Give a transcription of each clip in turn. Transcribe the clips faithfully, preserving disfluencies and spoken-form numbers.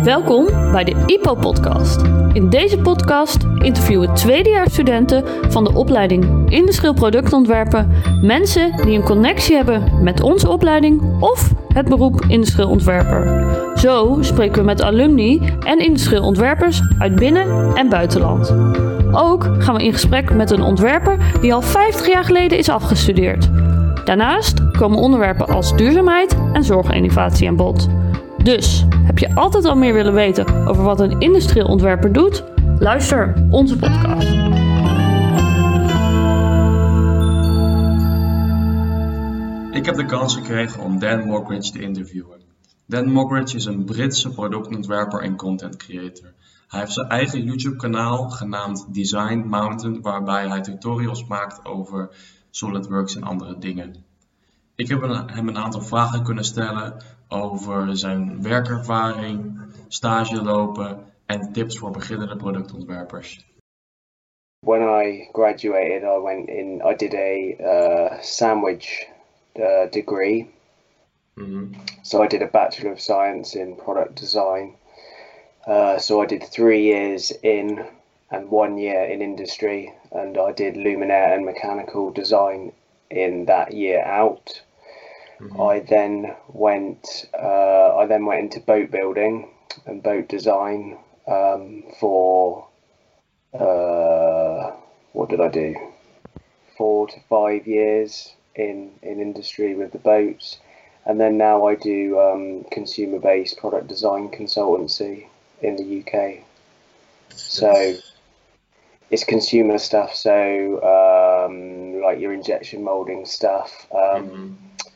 Welkom bij de I P O-podcast. In deze podcast interviewen tweedejaarsstudenten van de opleiding Industrieel Productontwerpen mensen die een connectie hebben met onze opleiding of het beroep Industrieel Ontwerper. Zo spreken we met alumni en industrieel ontwerpers uit binnen- en buitenland. Ook gaan we in gesprek met een ontwerper die al vijftig jaar geleden is afgestudeerd. Daarnaast komen onderwerpen als duurzaamheid en zorginnovatie aan bod. Dus, heb je altijd al meer willen weten over wat een industrieel ontwerper doet? Luister onze podcast. Ik heb de kans gekregen om Dan Moggridge te interviewen. Dan Moggridge is een Britse productontwerper en content creator. Hij heeft zijn eigen YouTube-kanaal genaamd Design Mountain, waarbij hij tutorials maakt over SolidWorks en andere dingen. Ik heb hem een aantal vragen kunnen stellen over zijn werkervaring, stage lopen en tips voor beginnende productontwerpers. When I graduated, I went in. I did a uh, sandwich uh, degree. Mm-hmm. So I did a Bachelor of Science in Product Design. Uh, so I did three years in and one year in industry, and I did luminaire and mechanical design in that year out. Mm-hmm. I then went. Uh, I then went into boat building and boat design um, for. Uh, what did I do? Four to five years in in industry with the boats, and then now I do um, consumer-based product design consultancy in the U K. So it's consumer stuff. So um, like your injection molding stuff. Um, Mm-hmm.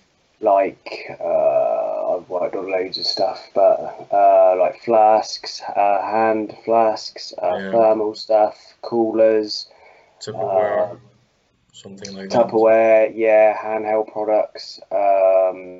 Like uh, I've worked on loads of stuff, but uh, like flasks, uh, hand flasks, uh, Yeah. thermal stuff, coolers, Tupperware, uh, something like Tupperware, yeah, handheld products, um,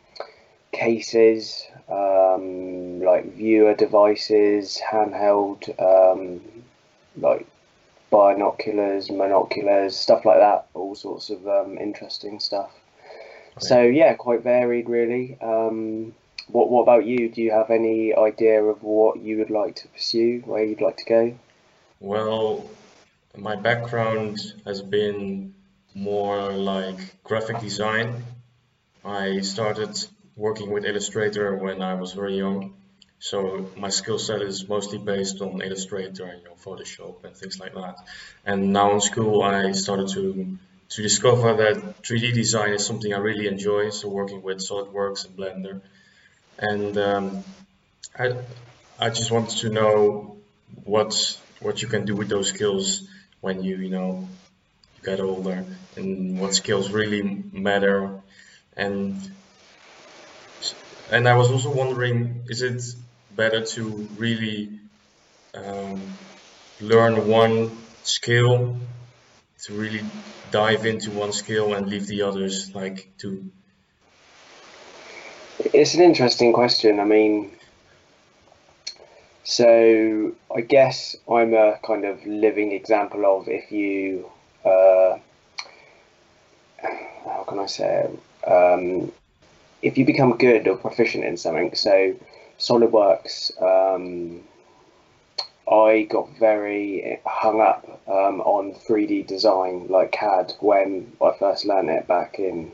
cases, um, like viewer devices, handheld, um, like binoculars, monoculars, stuff like that. All sorts of um, interesting stuff. So yeah, quite varied really. Um, what what about you? Do you have any idea of what you would like to pursue, where you'd like to go? Well, my background has been more like graphic design. I started working with Illustrator when I was very young, so my skill set is mostly based on Illustrator and you know, Photoshop and things like that. And now in school, I started to to discover that three D design is something I really enjoy. So working with SolidWorks and Blender, and um, I I just wanted to know what what you can do with those skills when you you know you get older, and what skills really matter. And and I was also wondering, is it better to really um, learn one skill, to really dive into one skill and leave the others like to? It's an interesting question. I mean, so I guess I'm a kind of living example of if you, uh, how can I say it? Um, if you become good or proficient in something, so SolidWorks, um, I got very hung up um, on three D design, like C A D, when I first learned it back in,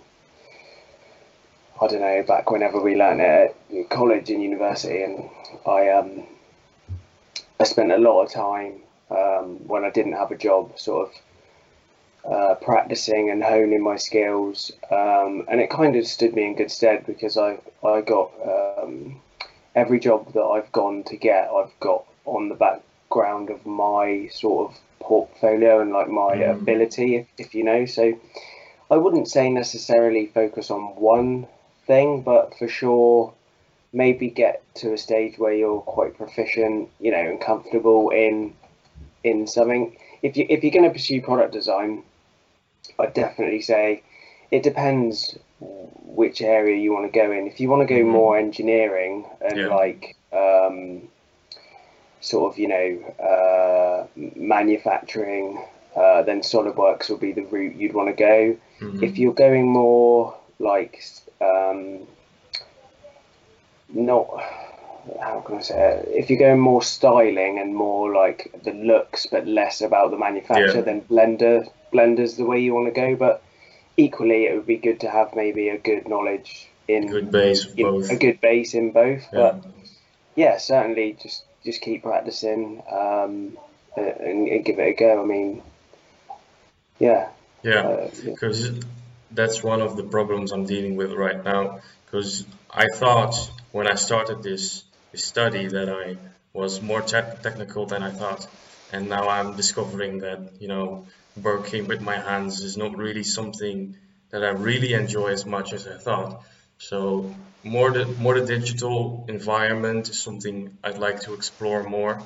I don't know, back whenever we learned it at college and university. And I um, I spent a lot of time um, when I didn't have a job, sort of uh, practicing and honing my skills. Um, and it kind of stood me in good stead because I, I got um, every job that I've gone to get, I've got on the background of my sort of portfolio and like my Mm. ability, if, if you know. So I wouldn't say necessarily focus on one thing, but for sure maybe get to a stage where you're quite proficient, you know, and comfortable in in something. If you if you're going to pursue product design, I'd definitely say it depends which area you want to go in. If you want to go Mhm. more engineering and Yeah. like um, sort of, you know, uh, manufacturing, uh, then SolidWorks will be the route you'd want to go. Mhm. If you're going more like um, not how can I say it? If you're going more styling and more like the looks, but less about the manufacture, Yeah. then Blender Blender's the way you want to go. But equally, it would be good to have maybe a good knowledge in Good base of you know, both. a good base in both. Yeah. But yeah, certainly just just keep practicing um, and, and give it a go. I mean, yeah, Yeah, uh, yeah. because that's one of the problems I'm dealing with right now. Because I thought when I started this, this study that I was more te- technical than I thought, and now I'm discovering that you know working with my hands is not really something that I really enjoy as much as I thought. So more the more the digital environment is something I'd like to explore more,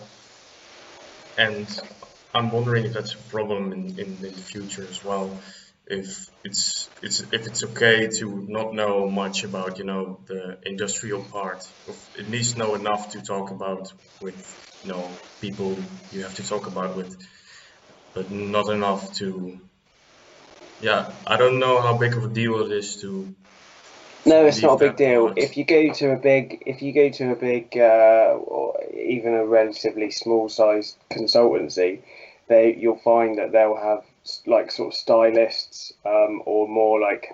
and I'm wondering if that's a problem in, in, in the future as well. If it's it's if it's okay to not know much about you know the industrial part, of at least know enough to talk about with you know people you have to talk about with, but not enough to yeah. I don't know how big of a deal it is to No, it's not leave a big that deal. part. If you go to a big, if you go to a big, uh, or even a relatively small-sized consultancy, they you'll find that they'll have s- like sort of stylists, um, or more like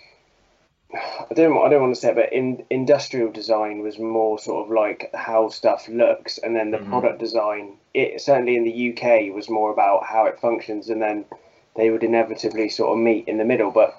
I don't I don't want to say it, but in industrial design was more sort of like how stuff looks, and then the Hmm. product design, it certainly in the U K was more about how it functions, and then they would inevitably sort of meet in the middle. But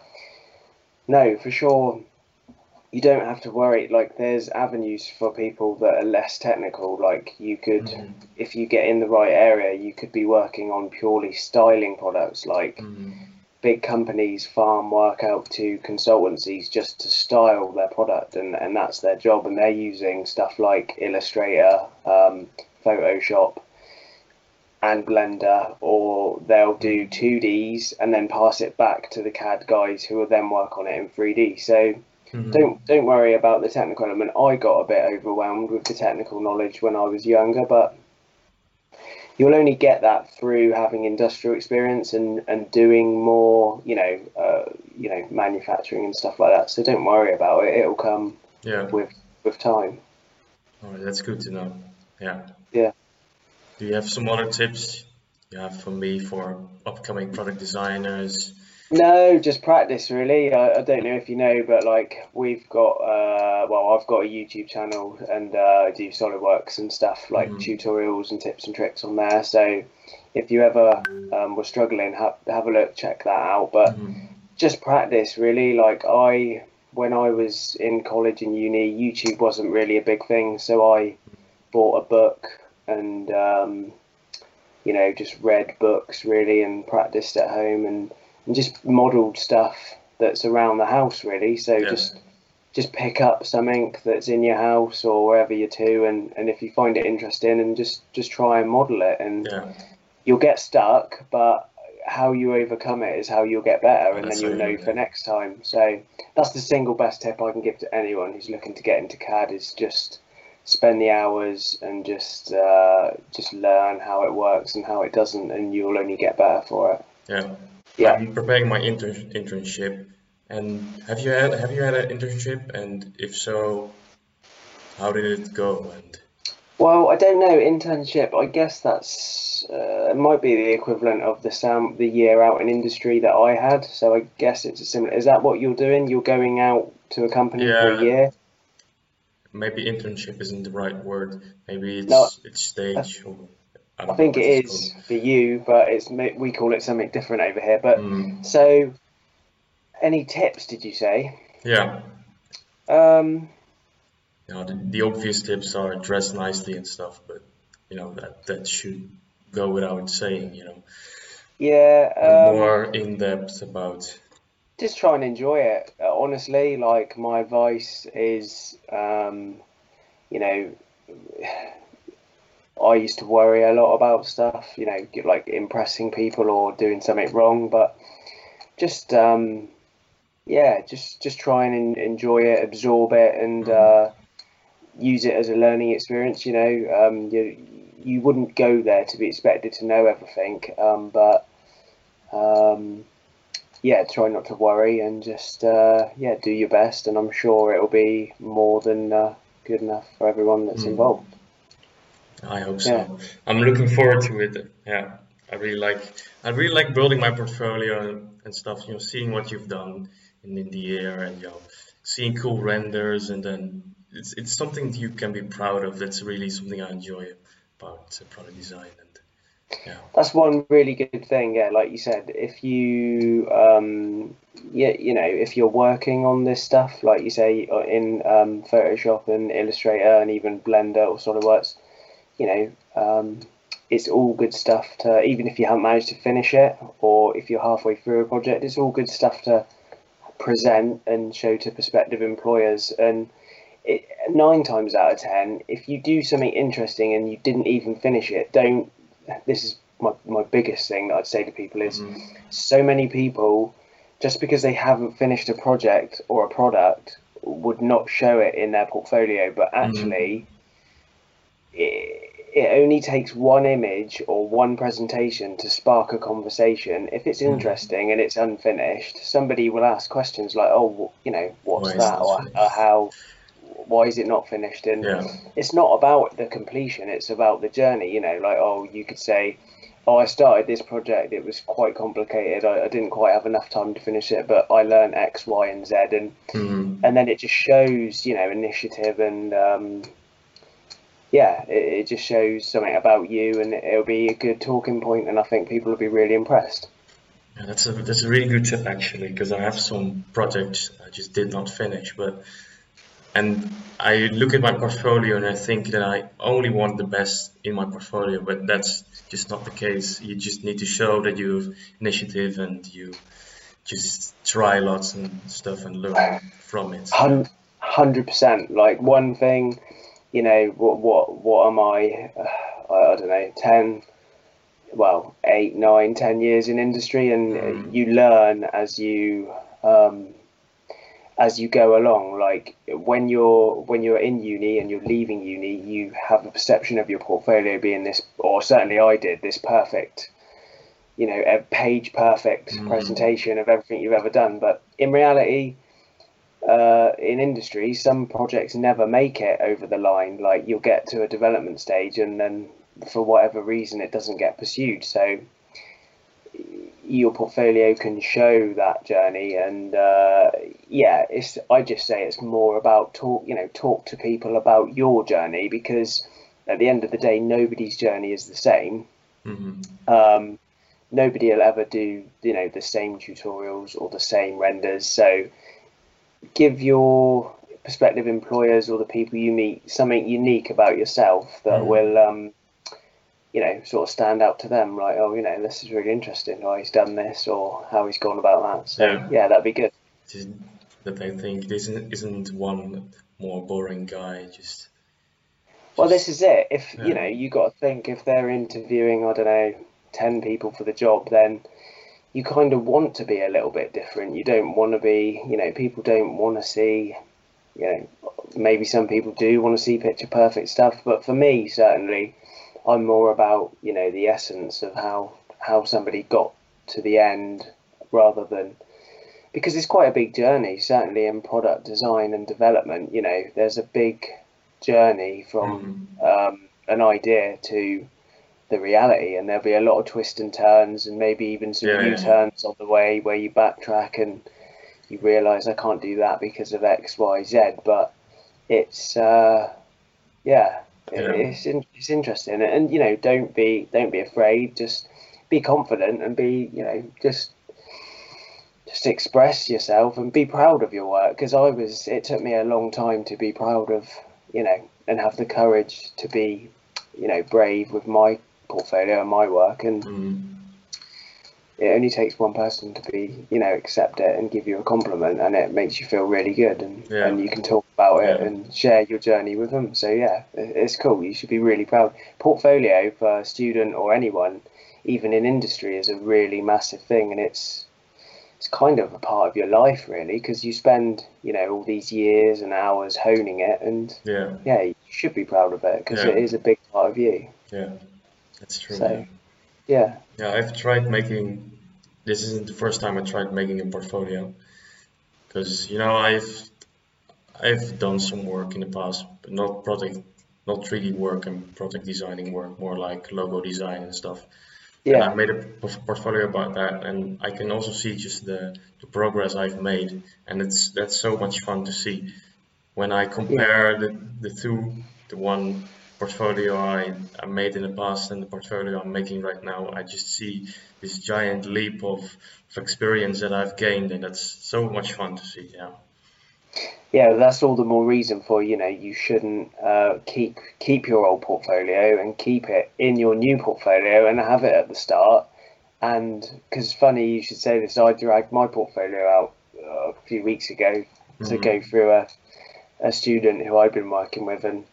no, for sure you don't have to worry. Like, there's avenues for people that are less technical. Like, you could, Hmm. if you get in the right area, you could be working on purely styling products. Like, Hmm. big companies farm work out to consultancies just to style their product, and, and that's their job. And they're using stuff like Illustrator, um, Photoshop, and Blender, or they'll do Hmm. two Ds and then pass it back to the C A D guys who will then work on it in three D. So Hmm. don't don't worry about the technical element. I got a bit overwhelmed with the technical knowledge when I was younger, but you'll only get that through having industrial experience and, and doing more, you know, uh, you know, manufacturing and stuff like that. So don't worry about it. It'll come Yeah. with with time. All right, that's good to know. Yeah. Yeah. Do you have some other tips you have for me for upcoming product designers? No, just practice really. I, I don't know if you know, but like we've got, uh, well, I've got a YouTube channel and uh, I do SolidWorks and stuff like Hmm. tutorials and tips and tricks on there. So if you ever um, were struggling, have have a look, check that out. But Hmm. just practice really. Like I, when I was in college and uni, YouTube wasn't really a big thing, so I bought a book and um, you know, just read books really and practiced at home and, and just modelled stuff that's around the house really. So Yeah. just just pick up something that's in your house or wherever you're to, and, and if you find it interesting, and just just try and model it, and Yeah. you'll get stuck, but how you overcome it is how you'll get better, Oh, and that's then how you'll you know learn. for Yeah. next time. So that's the single best tip I can give to anyone who's looking to get into C A D, is just spend the hours and just uh, just learn how it works and how it doesn't, and you'll only get better for it. Yeah. Yeah. I'm preparing my intern internship. And have you had have you had an internship? And if so, how did it go? And Well, I don't know. Internship, I guess that's uh, it might be the equivalent of the sam the year out in industry that I had. So I guess it's a similar. Is that what you're doing? You're going out to a company for a yeah, year? maybe internship isn't the right word. Maybe No, it's it's I, stage or I I don't know think it what it's called. is for you, but it's we call it something different over here. But Hmm. so, any tips? Did you say? Yeah. Um, You know, the, the obvious tips are dress nicely and stuff, but you know that that should go without saying, you know. But yeah. Um, more in depth about just try and enjoy it. Uh, honestly, like my advice is, um, you know, I used to worry a lot about stuff, you know, like impressing people or doing something wrong, but just um, yeah, just just try and enjoy it, absorb it, and Mhm. uh, use it as a learning experience. You know, um, you you wouldn't go there to be expected to know everything, um, but um, yeah, try not to worry and just uh, yeah, do your best, and I'm sure it'll be more than uh, good enough for everyone that's Mm. involved. I hope so. Yeah. I'm looking forward to it. Yeah, I really like I really like building my portfolio and, and stuff. You know, seeing what you've done in, in the year, and you know, seeing cool renders, and then it's it's something you can be proud of. That's really something I enjoy about uh, product design. And yeah, That's one really good thing. Yeah, like you said, if you um, yeah, you know, if you're working on this stuff, like you say, uh, in um, Photoshop and Illustrator and even Blender or SolidWorks, you know, um, it's all good stuff to, even if you haven't managed to finish it, or if you're halfway through a project, it's all good stuff to present and show to prospective employers. And it, nine times out of ten, if you do something interesting and you didn't even finish it, don't. This is my, my biggest thing that I'd say to people is, Mhm. so many people, just because they haven't finished a project or a product, would not show it in their portfolio, but actually it, it only takes one image or one presentation to spark a conversation. If it's Mhm. interesting and it's unfinished, somebody will ask questions like, "Oh, you know, what's Why is that?" not or, finished? or "How? Why is it not finished?" And Yeah. it's not about the completion; it's about the journey. You know, like, oh, you could say, "Oh, I started this project. It was quite complicated. I, I didn't quite have enough time to finish it, but I learned X, Y, and Z." And Mhm. and then it just shows, you know, initiative and um, yeah, it, it just shows something about you, and it'll be a good talking point, and I think people will be really impressed. Yeah, that's a that's a really good tip actually, because I have some projects I just did not finish, but and I look at my portfolio and I think that I only want the best in my portfolio, but that's just not the case. You just need to show that you have initiative and you just try lots and stuff and learn from it. Yeah. Hundred percent. Like one thing, you know, what what what am I? Uh, I, I don't know, ten, well, eight, nine, ten years in industry, and uh, Mm, you learn as you um, as you go along. Like when you're when you're in uni and you're leaving uni, you have a perception of your portfolio being this, or certainly I did, this perfect, you know, a page perfect mm, presentation of everything you've ever done. But in reality, uh, in industry, some projects never make it over the line. Like you'll get to a development stage, and then for whatever reason, it doesn't get pursued. So your portfolio can show that journey, and uh, yeah, it's. I just say it's more about talk. You know, talk to people about your journey, because at the end of the day, nobody's journey is the same. mm, Um, Nobody will ever do, you know, the same tutorials or the same renders. So give your prospective employers or the people you meet something unique about yourself that mm. will, um, you know, sort of stand out to them. Like, oh, you know, this is really interesting. Or he's done this, or how he's gone about that. So Yeah. yeah, that'd be good. Just that I think this isn't, isn't one more boring guy. Just, Well, this just is it. If you yeah. know, you got to think if they're interviewing, I don't know, ten people for the job, then you kind of want to be a little bit different. You don't want to be, you know, people don't want to see, you know, maybe some people do want to see picture perfect stuff, but for me, certainly, I'm more about, you know, the essence of how how somebody got to the end, rather than, because it's quite a big journey, certainly in product design and development. You know, there's a big journey from Mm, um, an idea to the reality, and there'll be a lot of twists and turns, and maybe even some yeah, yeah, U-turns on the way where you backtrack and you realize I can't do that because of X, Y, Z. But it's uh, yeah, yeah, it's it's interesting, and you know, don't be don't be afraid. Just be confident and be, you know, just just express yourself and be proud of your work. Because I was, it took me a long time to be proud of, you know, and have the courage to be, you know, brave with my portfolio and my work. And mm, it only takes one person to be, you know, accept it and give you a compliment, and it makes you feel really good, and yeah, and you can talk about it yeah, and share your journey with them. So yeah, it's cool. You should be really proud. Portfolio for a student or anyone, even in industry, is a really massive thing, and it's it's kind of a part of your life, really, because you spend, you know, all these years and hours honing it, and yeah, yeah, you should be proud of it because it yeah, is a big part of you. yeah. That's true. Yeah, So yeah. yeah. I've tried making. This isn't the first time I tried making a portfolio, because you know I've I've done some work in the past, but not project, not three D work and project designing work, more like logo design and stuff. And I Yeah, made a p- portfolio about that, and I can also see just the, the progress I've made, and it's that's so much fun to see. When I yeah, compare the, the two, the one portfolio I, I made in the past and the portfolio I'm making right now, I just see this giant leap of, of experience that I've gained, and that's so much fun to see. Yeah. yeah. That's all the more reason for, you know, you shouldn't uh, keep keep your old portfolio and keep it in your new portfolio and have it at the start. And because funny you should say this, I dragged my portfolio out uh, a few weeks ago to Hmm. go through a, a student who I've been working with, and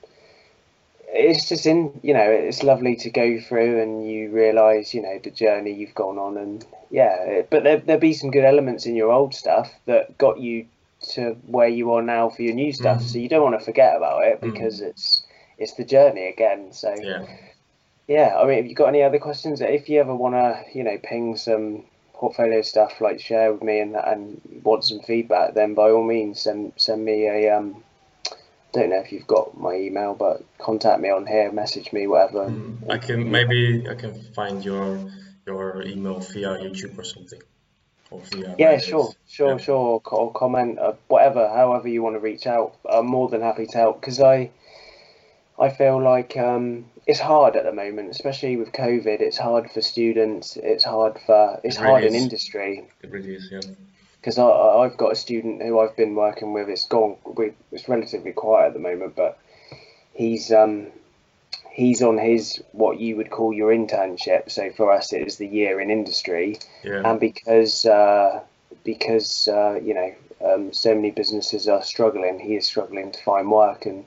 it's just in, you know, it's lovely to go through and you realize, you know, the journey you've gone on. And yeah, it, but there, there'll be some good elements in your old stuff that got you to where you are now for your new stuff, so Hmm. you don't want to forget about it because Hmm. it's it's the journey again. So Yeah. yeah, I mean, have you got any other questions? If you ever want to, you know, ping some portfolio stuff, like share with me, and and want some feedback, then by all means send send me a um don't know if you've got my email, but contact me on here, message me, whatever. And, Hmm. I and can yeah, maybe I can find your your email via YouTube or something, or via yeah, sure, Reddit. sure, Yeah. sure, co- or comment, uh, whatever, however you want to reach out. I'm more than happy to help because I I feel like um, it's hard at the moment, especially with COVID. It's hard for students. It's hard for it's It really hard in is. industry It really is. Yeah. because I I- I've got a student who I've been working with. It's gone. We, it's relatively quiet at the moment, but he's um he's on his what you would call your internship. So for us, it is the year in industry, Yeah. and because uh, because uh, you know um, so many businesses are struggling, he is struggling to find work. And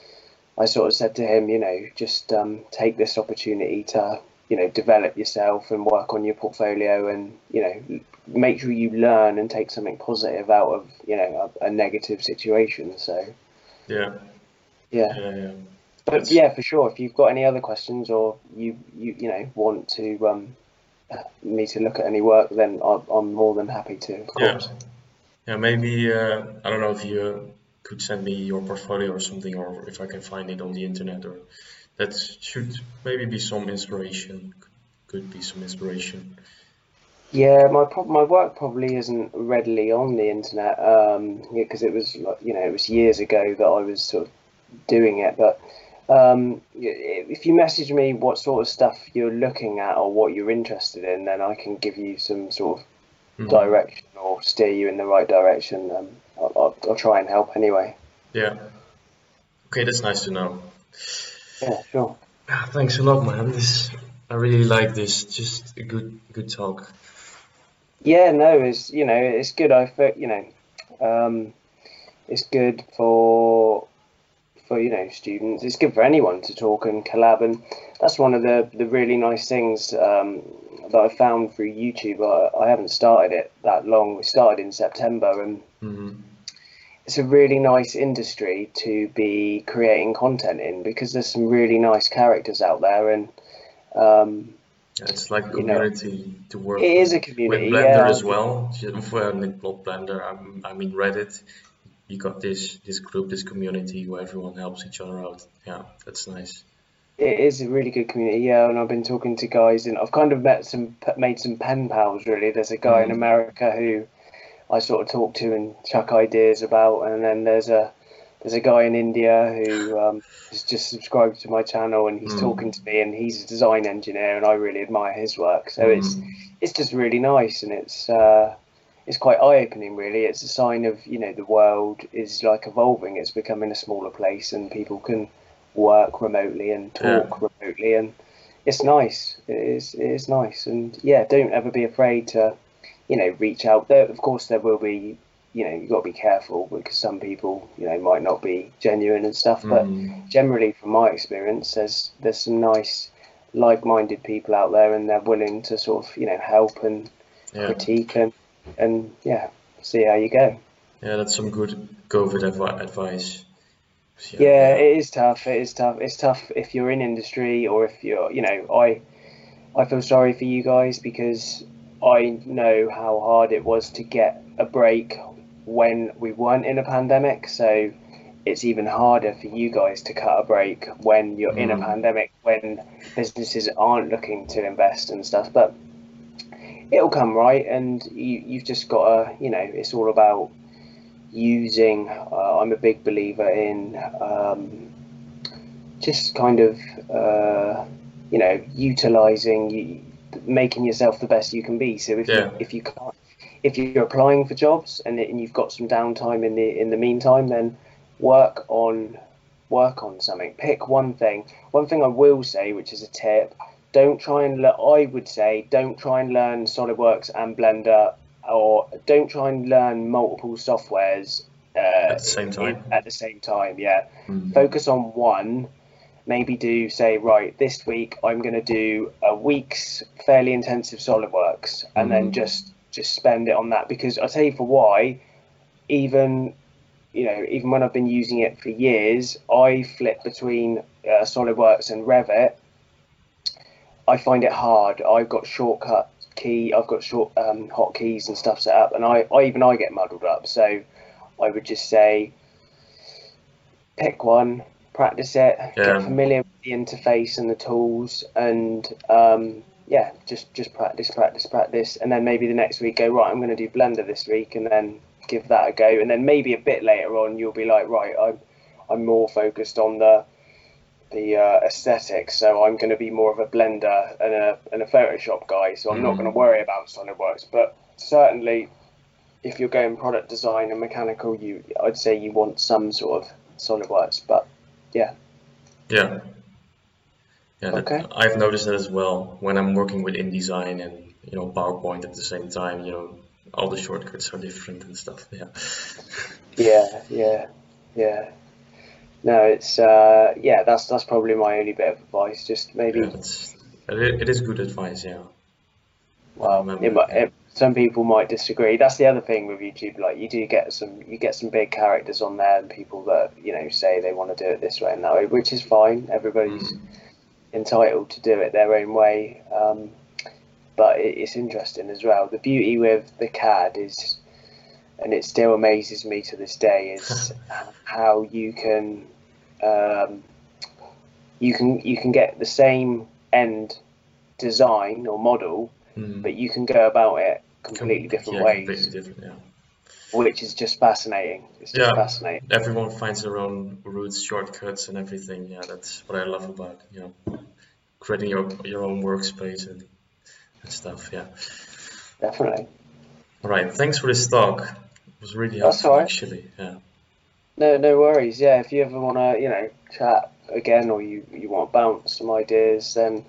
I sort of said to him, you know, just um, take this opportunity to you know develop yourself and work on your portfolio, and you know make sure you learn and take something positive out of you know a, a negative situation. So Yeah. yeah. Yeah. Yeah. But That's yeah, for sure. If you've got any other questions, or you you you know want to um, me to look at any work, then I'm, I'm more than happy to, of yeah. course. Yeah, maybe uh, I don't know if you uh, could send me your portfolio or something, or if I can find it on the internet, or that should maybe be some inspiration. Could, could be some inspiration. Yeah, my prob my work probably isn't readily on the internet, um, yeah, because it was like, you know it was years ago that I was sort of doing it. But um, y- if you message me what sort of stuff you're looking at or what you're interested in, then I can give you some sort of Hmm. direction or steer you in the right direction. Um, I'll, I'll, I'll try and help anyway. Yeah. Okay, that's nice to know. Yeah, sure. Ah, thanks a lot, man. This I really like this. Just a good good talk. Yeah, no, it's you know it's good. I feel you know um, it's good for for you know students. It's good for anyone to talk and collab, and that's one of the the really nice things um, that I found through YouTube. I, I haven't started it that long. We started in September, and Hmm. it's a really nice industry to be creating content in because there's some really nice characters out there, and um, Yeah, it's like a you know community to work it is with a with community. Blender Yeah, as well. Just- Well, not Blender. I, I mean Reddit. You got this this group, this community where everyone helps each other out. Yeah, that's nice. it is a really good community, yeah, and I've been talking to guys, and I've kind of met some, made some pen pals. Really, there's a guy in Hmm. America who I sort of talk to and chuck ideas about, and then there's a there's a guy in India who um, has just subscribed to my channel, and he's talking Hmm. to me, and he's a design engineer, and I really admire his work. So it's Hmm. it's just really nice, and it's uh, it's quite eye-opening, really. It's a sign of you know the world is like evolving. It's becoming a smaller place, and people can work remotely and Yeah. talk remotely, and it's nice. It is it is nice, and yeah, don't ever be afraid to you know reach out. There, of course, there will be you know you've got to be careful because some people you know might not be genuine and stuff. But Hmm. generally, from my experience, there's there's some nice like-minded people out there, and they're willing to sort of you know help and Yeah. critique and and yeah, see how you go. Yeah, that's some good COVID advi advice. Yeah. Yeah, Yeah. it is tough. It is tough. It's tough if you're in industry or if you're, you know, I I feel sorry for you guys because I know how hard it was to get a break when we weren't in a pandemic. So it's even harder for you guys to cut a break when you're in a Mm. pandemic, when businesses aren't looking to invest and stuff. But it'll come, right? And you, you've just got to, you know, it's all about using. Uh, I'm a big believer in um, just kind of, uh, you know, utilizing, you, making yourself the best you can be. So if Yeah. you if you can't, if you're applying for jobs and, and you've got some downtime in the in the meantime, then work on work on something. Pick one thing. One thing I will say, which is a tip: don't try and le- I would say don't try and learn SolidWorks and Blender, or don't try and learn multiple softwares uh, At the same time. in- at the same time. Yeah, Mm. focus on one. Maybe do say, right, this week I'm going to do a week's fairly intensive SolidWorks, and then Mhm. just just spend it on that. Because I'll tell you for why. Even you know, even when I've been using it for years, I flip between uh, SolidWorks and Revit. I find it hard. I've got shortcut key, I've got short um, hotkeys and stuff set up, and I, I even I get muddled up. So I would just say, pick one, practice it, Yeah. get familiar with the interface and the tools, and um, yeah, just just practice, practice, practice, and then maybe the next week go, right, I'm going to do Blender this week, and then give that a go, and then maybe a bit later on you'll be like, right, I'm I'm more focused on the the uh, aesthetics, so I'm going to be more of a Blender and a and a Photoshop guy, so I'm not Mhm. going to worry about SolidWorks. But certainly, if you're going product design and mechanical, you I'd say you want some sort of SolidWorks. But yeah, Yeah. Yeah, that, okay, I've noticed that as well when I'm working with InDesign and you know PowerPoint at the same time. You know, all the shortcuts are different and stuff. Yeah. yeah, yeah, yeah. No, it's uh, yeah, that's that's probably my only bit of advice. Just Yeah, maybe, that's it, it is good advice. Yeah. I well, remember. it, might- Yeah. it, some people might disagree. That's the other thing with YouTube. Like, you do get some, you get some big characters on there, and people that you know say they want to do it this way and that way, which is fine. Everybody's Mm. entitled to do it their own way. Um, but it, it's interesting as well. The beauty with the C A D is, and it still amazes me to this day, is how you can um, you can you can get the same end design or model, Mm. but you can go about it completely Com- different yeah, ways, completely different. Yeah. which is just fascinating. It's just Yeah. fascinating. Everyone finds their own routes, shortcuts, and everything. Yeah, that's what I love about you know creating your your own workspace and, and stuff. Yeah. Definitely. All right. Thanks for this talk. It was really That's helpful, all right. actually. Yeah. No, no worries. Yeah, if you ever want to, you know, chat again, or you you want to bounce some ideas, then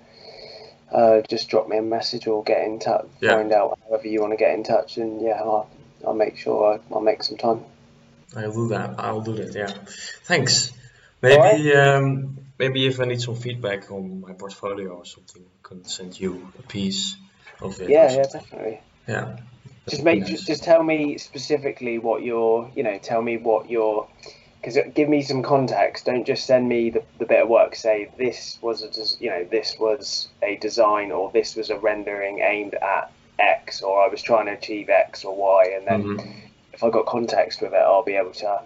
uh, just drop me a message or get in touch. Yeah. Find out however you want to get in touch, and yeah, I'll, I'll make sure I, I'll make some time. I'll do that. I'll do that. Yeah. Thanks. All right. Maybe um, maybe if I need some feedback on my portfolio or something, I can send you a piece of it or Yeah, yeah, something. definitely. Yeah. Just That'd be make, nice. just tell me specifically what your, you know, tell me what your, because give me some context. Don't just send me the, the bit of work. Say this was a, des- you know, this was a design, or this was a rendering aimed at X, or I was trying to achieve X or Y, and then Mhm. if I got context with it, I'll be able to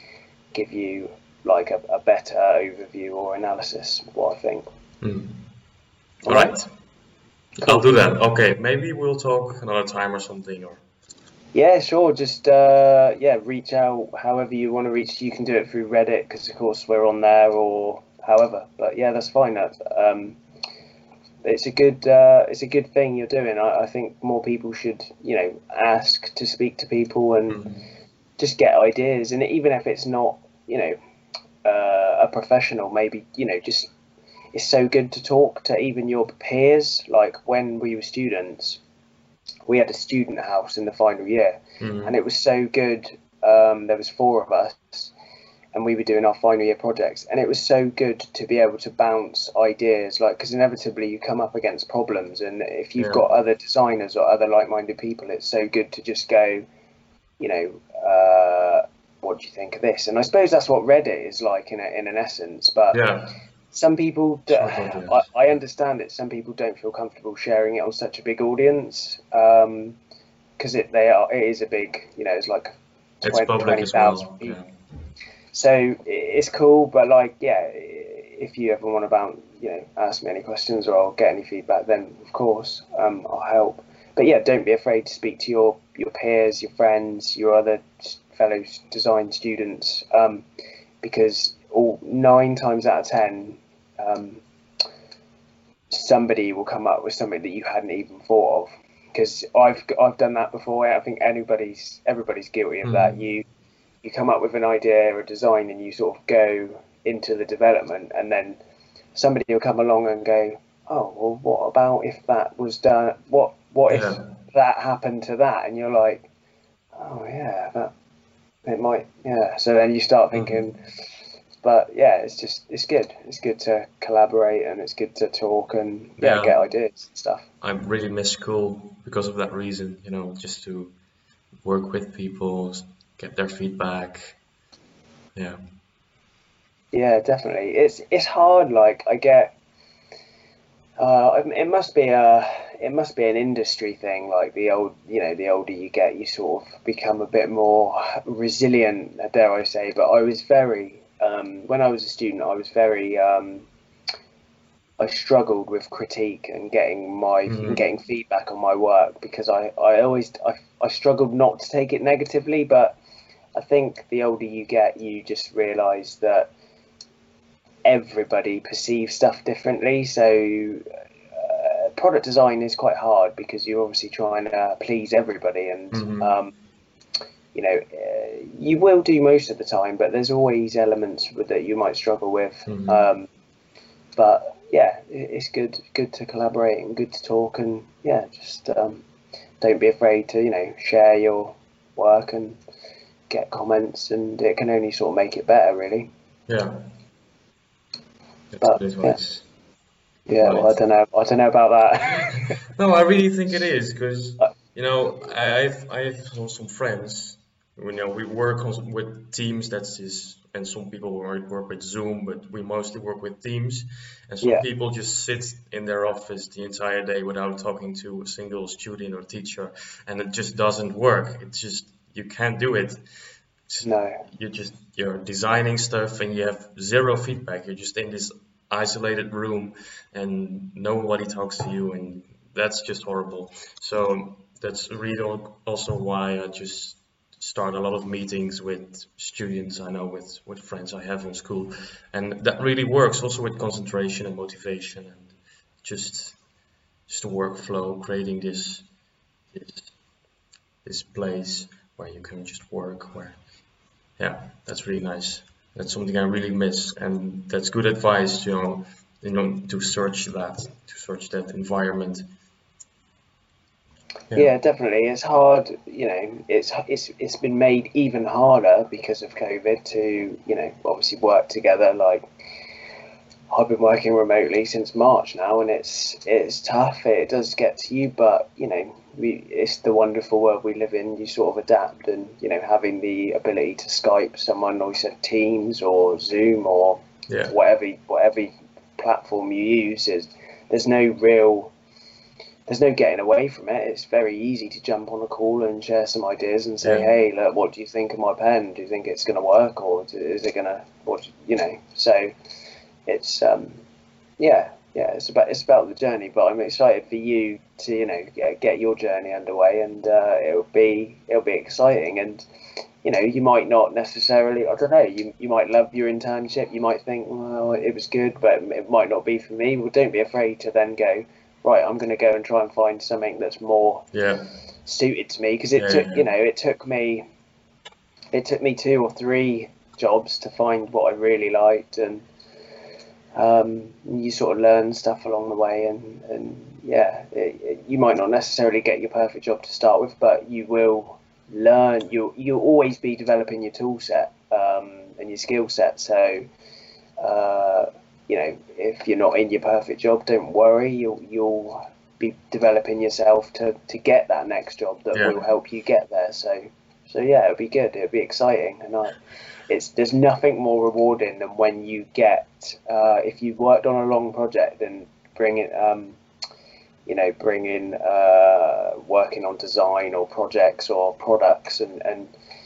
give you like a, a better overview or analysis of what I think. Mm. All All right. right. Cool. I'll do that. Okay. Maybe we'll talk another time or something. Or Yeah, sure. Just uh, yeah, reach out however you want to reach. You can do it through Reddit because, of course, we're on there, or however. But yeah, that's fine. That um, it's a good uh, it's a good thing you're doing. I, I think more people should, you know, ask to speak to people and Mhm. just get ideas. And even if it's not, you know, uh, a professional, maybe, you know, just it's so good to talk to even your peers. Like when we were students, we had a student house in the final year, Mhm. and it was so good. Um, there was four of us, and we were doing our final year projects, and it was so good to be able to bounce ideas, like, because inevitably you come up against problems, and if you've Yeah. got other designers or other like-minded people, it's so good to just go, you know, uh, what do you think of this? And I suppose that's what Reddit is like in a, in an essence. But Yeah. some people, do, Sort of. I, Yes. I understand it. Some people don't feel comfortable sharing it on such a big audience, um, because it they are it is a big, you know, it's like It's public twenty as thousand well. people. Yeah. so it's cool, but like, yeah, if you ever want to bounce, you know, ask me any questions or get any feedback, then of course, um, I'll help. But yeah, don't be afraid to speak to your your peers, your friends, your other fellow design students, um, because all nine times out of ten, um, somebody will come up with something that you hadn't even thought of. Because I've I've done that before. I think anybody's everybody's guilty of mm. that. You you come up with an idea or a design, and you sort of go into the development, and then somebody will come along and go, oh, well, what about if that was done? What what yeah. if that happened to that? And you're like, oh yeah, that it might, yeah. So then you start thinking, mm-hmm. but yeah, it's just it's good. It's good to collaborate, and it's good to talk and yeah, yeah. get ideas and stuff. I really miss school because of that reason, you know, just to work with people, get their feedback. Yeah. Yeah, definitely. It's it's hard. Like I get, uh, it must be a it must be an industry thing. Like the old, you know, the older you get, you sort of become a bit more resilient, dare I say. But I was very, um, when I was a student, I was very, um, I struggled with critique and getting my mm-hmm. and getting feedback on my work because I I always I I struggled not to take it negatively. But I think the older you get, you just realise that everybody perceives stuff differently. So uh, product design is quite hard because you're obviously trying to please everybody, and mm-hmm. um, you know uh, you will do most of the time, but there's always elements that you might struggle with. Mm-hmm. Um, but yeah, it's good good to collaborate and good to talk, and yeah, just um, don't be afraid to, you know, share your work and get comments, and it can only sort of make it better, really. Yeah. But yeah, yeah right. well, I don't know. I don't know about that. No, I really think it is because you know I've I've some friends. You know, we work on, with Teams. That's is, and some people work with Zoom, but we mostly work with Teams. And some yeah. people just sit in their office the entire day without talking to a single student or teacher, and it just doesn't work. It's just you can't do it. No. You just you're designing stuff and you have zero feedback. You're just in this isolated room and nobody talks to you, and that's just horrible. So that's really also why I just start a lot of meetings with students I know, with with friends I have in school, and that really works also with concentration and motivation and just just a workflow, creating this this this place where you can just work where. Yeah, that's really nice. That's something I really miss, and that's good advice, you know, you know, to search that, to search that environment. Yeah. yeah, definitely. It's hard, you know. It's it's it's been made even harder because of COVID to, you know, obviously work together. Like I've been working remotely since March now, and it's it's tough. It does get to you, but you know. We, it's the wonderful world we live in. You sort of adapt, and you know, having the ability to Skype someone, or you said Teams or Zoom or yeah. whatever whatever platform you use, is there's no real there's no getting away from it. It's very easy to jump on a call and share some ideas and say, yeah. hey, look, what do you think of my pen? Do you think it's going to work, or is it going to, what you know? So it's um, yeah. Yeah, it's about it's about the journey, but I'm excited for you to, you know, get, get your journey underway, and uh, it'll be it'll be exciting. And you know, you might not necessarily, I don't know, you you might love your internship, you might think, well, it was good, but it might not be for me. Well, don't be afraid to then go, right, I'm going to go and try and find something that's more yeah. suited to me, because it yeah, took yeah. you know it took me it took me two or three jobs to find what I really liked, and. Um, you sort of learn stuff along the way, and, and yeah, it, it, you might not necessarily get your perfect job to start with, but you will learn. You'll you'll always be developing your tool set um, and your skill set. So, uh, you know, if you're not in your perfect job, don't worry. You'll you'll be developing yourself to, to get that next job that yeah. will help you get there. So, so yeah, it'll be good. It'll be exciting, and I. It's, there's nothing more rewarding than when you get, uh, if you've worked on a long project and bring it, um, you know, bring in, uh, working on design or projects or products, and, and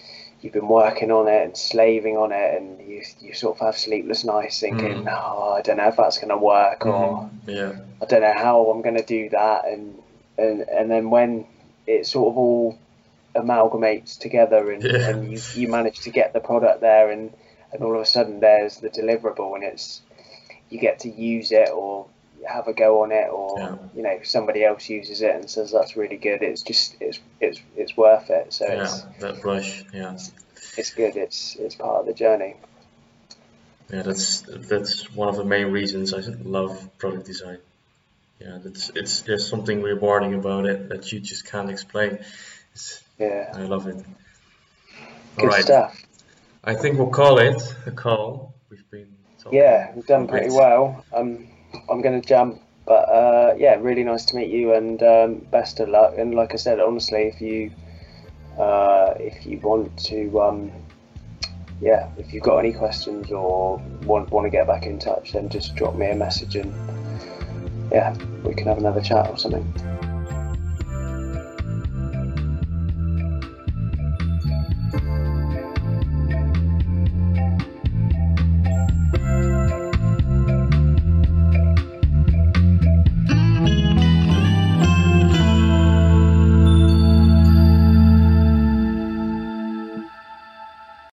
you've been working on it and slaving on it, and you you sort of have sleepless nights thinking, Mm. oh, I don't know if that's going to work, or Mhm. Yeah. I don't know how I'm going to do that, and and and then when it sort of all amalgamates together, and, Yeah. and you, you manage to get the product there, and, and all of a sudden there's the deliverable, and it's you get to use it or have a go on it, or Yeah. you know, somebody else uses it and says that's really good. It's just it's it's it's worth it. So Yeah. it's That rush. Yeah. it's good. It's it's part of the journey. Yeah. That's that's one of the main reasons I love product design. Yeah. That's it's there's something rewarding about it that you just can't explain. It's, Yeah, I love it. All good right. stuff. I think we'll call it a call. We've been talking Yeah, we've done a pretty bit. well. Um, I'm going to jump, but uh, yeah, really nice to meet you, and um, best of luck. And like I said, honestly, if you uh, if you want to, um, yeah, if you've got any questions or want want to get back in touch, then just drop me a message, and yeah, we can have another chat or something.